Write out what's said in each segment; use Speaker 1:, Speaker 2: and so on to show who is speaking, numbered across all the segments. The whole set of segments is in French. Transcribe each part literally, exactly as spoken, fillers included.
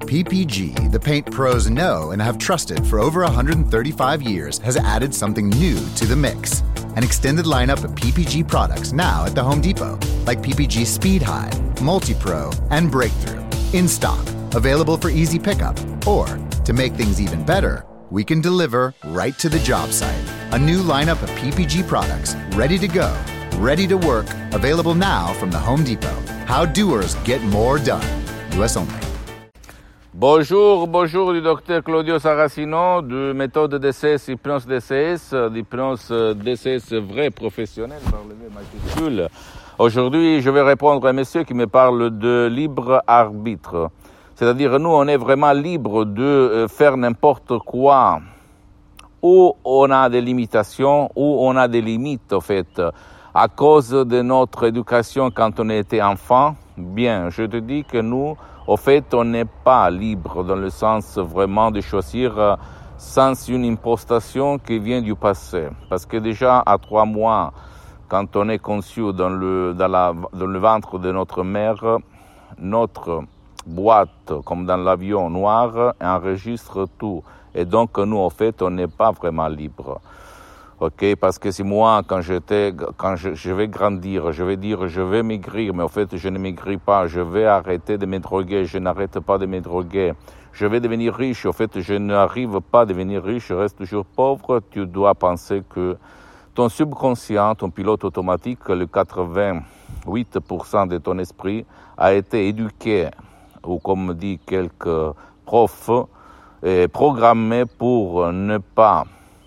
Speaker 1: P P G, the paint pros know and have trusted for over one hundred thirty-five years, has added something new to the mix. An extended lineup of P P G products now at the Home Depot, like P P G Speed High, Multi-Pro, and Breakthrough. In stock, available for easy pickup. Or, to make things even better, we can deliver right to the job site. A new lineup of P P G products, ready to go, ready to work, available now from the Home Depot. How doers get more done. U S only.
Speaker 2: Bonjour, bonjour du docteur Claudio Saracino de méthode D C S, hypnose D C S, d'hypnose D C S vrai professionnel par le V majuscule. Aujourd'hui, je vais répondre à un monsieur qui me parle de libre arbitre. C'est-à-dire, nous, on est vraiment libre de faire n'importe quoi. Où on a des limitations, où on a des limites, en fait, à cause de notre éducation quand on était enfant. Bien, je te dis que nous, au fait, on n'est pas libre dans le sens vraiment de choisir sans une impostation qui vient du passé. Parce que déjà, à trois mois, quand on est conçu dans le, dans la, dans le ventre de notre mère, notre boîte, comme dans l'avion noir, enregistre tout. Et donc, nous, au fait, on n'est pas vraiment libre. Ok, parce que si moi, quand j'étais, quand je, je vais grandir, je vais dire, je vais maigrir, mais au fait, je ne maigris pas, je vais arrêter de me droguer, je n'arrête pas de me droguer, je vais devenir riche, au fait, je n'arrive pas à devenir riche, je reste toujours pauvre, tu dois penser que ton subconscient, ton pilote automatique, le quatre-vingt-huit pour cent de ton esprit a été éduqué, ou comme dit quelques profs, et programmé pour ne pas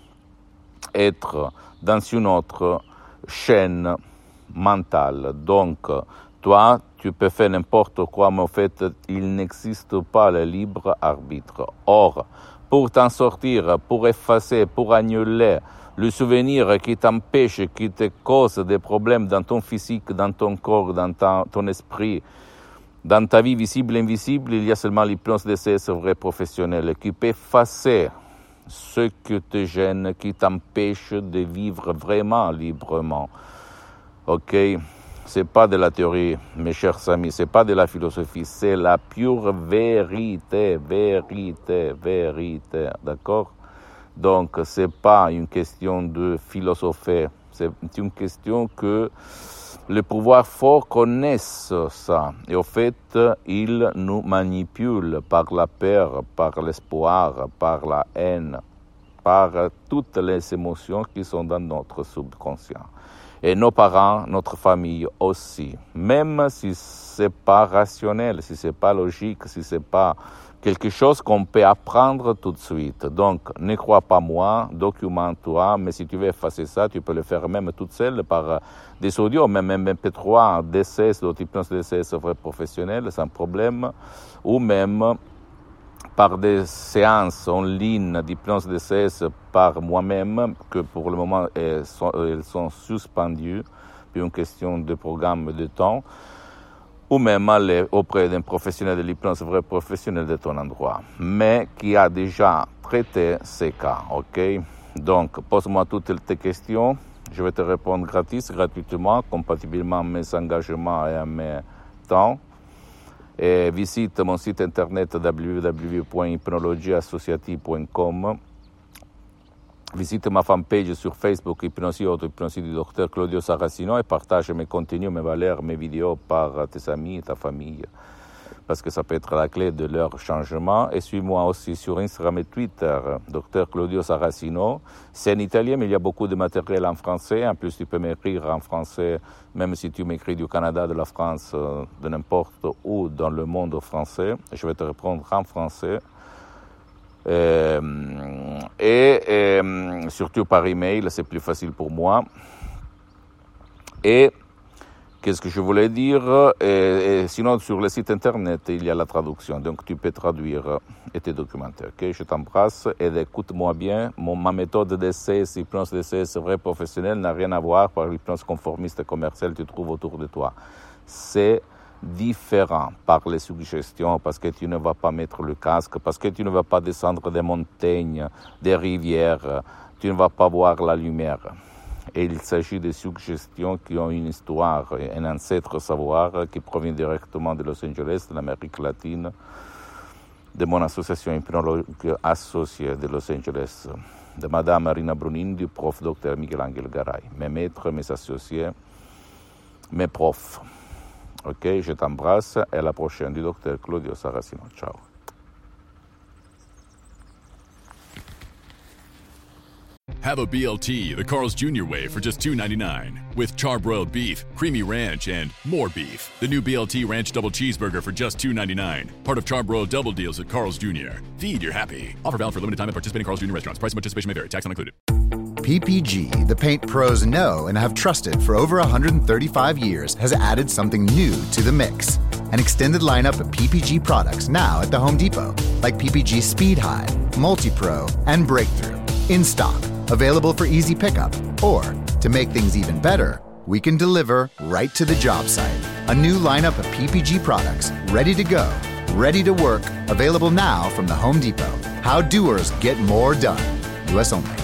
Speaker 2: être dans une autre chaîne mentale. Donc, toi, tu peux faire n'importe quoi, mais en fait, il n'existe pas le libre arbitre. Or, pour t'en sortir, pour effacer, pour annuler le souvenir qui t'empêche, qui te cause des problèmes dans ton physique, dans ton corps, dans ta, ton esprit, dans ta vie visible et invisible, il y a seulement l'hypnose D C S vrai professionnel qui peut effacer ce qui te gêne, qui t'empêche de vivre vraiment librement. Ok? C'est pas de la théorie, mes chers amis, c'est pas de la philosophie, c'est la pure vérité, vérité, vérité. D'accord? Donc, c'est pas une question de philosopher, c'est une question que le pouvoir fort connaissent ça. Et au fait, ils nous manipulent par la peur, par l'espoir, par la haine, par toutes les émotions qui sont dans notre subconscient. Et nos parents, notre famille aussi. Même si c'est pas rationnel, si c'est pas logique, si c'est pas quelque chose qu'on peut apprendre tout de suite. Donc, ne crois pas moi, documente-toi, mais si tu veux effacer ça, tu peux le faire même toute seule par des audios, même M P trois, D C S, l'hypnose D C S vrai professionnel, sans problème, ou même par des séances en ligne d'hypnose D C S par moi-même, que pour le moment, elles sont, elles sont suspendues, puis une question de programme de temps, ou même aller auprès d'un professionnel de l'hypnose vrai professionnel de ton endroit, mais qui a déjà traité ces cas, ok? Donc, pose-moi toutes tes questions, je vais te répondre gratis, gratuitement, compatiblement à mes engagements et à mes temps. Et visite mon site internet w w w point hypnologie associative point com. Visite ma fanpage sur Facebook, Hypnosie Auto, Hypnosie du docteur Claudio Saracino, et partage mes contenus, mes valeurs, mes vidéos par tes amis, ta famille, parce que ça peut être la clé de leur changement. Et suis-moi aussi sur Instagram et Twitter, docteur Claudio Saracino. C'est en italien, mais il y a beaucoup de matériel en français. En plus, tu peux m'écrire en français, même si tu m'écris du Canada, de la France, de n'importe où dans le monde français. Je vais te répondre en français. Euh, et, et surtout par email, c'est plus facile pour moi. Et qu'est-ce que je voulais dire? Et, et sinon, sur le site internet, il y a la traduction, donc tu peux traduire et te documenter. Ok, je t'embrasse et écoute-moi bien. Mon, ma méthode D C S, hypnose D C S vrai professionnel, n'a rien à voir par l'hypnose conformiste et commerciale que tu trouves autour de toi. C'est différent par les suggestions, parce que tu ne vas pas mettre le casque, parce que tu ne vas pas descendre des montagnes, des rivières, tu ne vas pas voir la lumière. Et il s'agit de suggestions qui ont une histoire, un ancêtre savoir qui provient directement de Los Angeles, de l'Amérique latine, de mon association hypnologue associée de Los Angeles, de Madame Marina Brunin, du prof Docteur Miguel-Angel Garay, mes maîtres, mes associés, mes profs. Ok, je t'embrasse et à la prochaine du Docteur Claudio Saracino. Ciao.
Speaker 3: Have a B L T the Carl's Junior way for just two ninety-nine. With charbroiled beef, creamy ranch, and more beef. The new B L T Ranch Double Cheeseburger for just two ninety-nine. Part of charbroiled double deals at Carl's Junior Feed your happy. Offer valid for limited time at participating Carl's Junior restaurants. Price and participation may vary. Tax not included.
Speaker 1: P P G, the paint pros know and have trusted for over one hundred thirty-five years, has added something new to the mix. An extended lineup of P P G products now at the Home Depot, like P P G Speed Hide, Multi-Pro, and Breakthrough. In stock, available for easy pickup. Or, to make things even better, we can deliver right to the job site. A new lineup of P P G products, ready to go, ready to work, available now from the Home Depot. How doers get more done. U S only.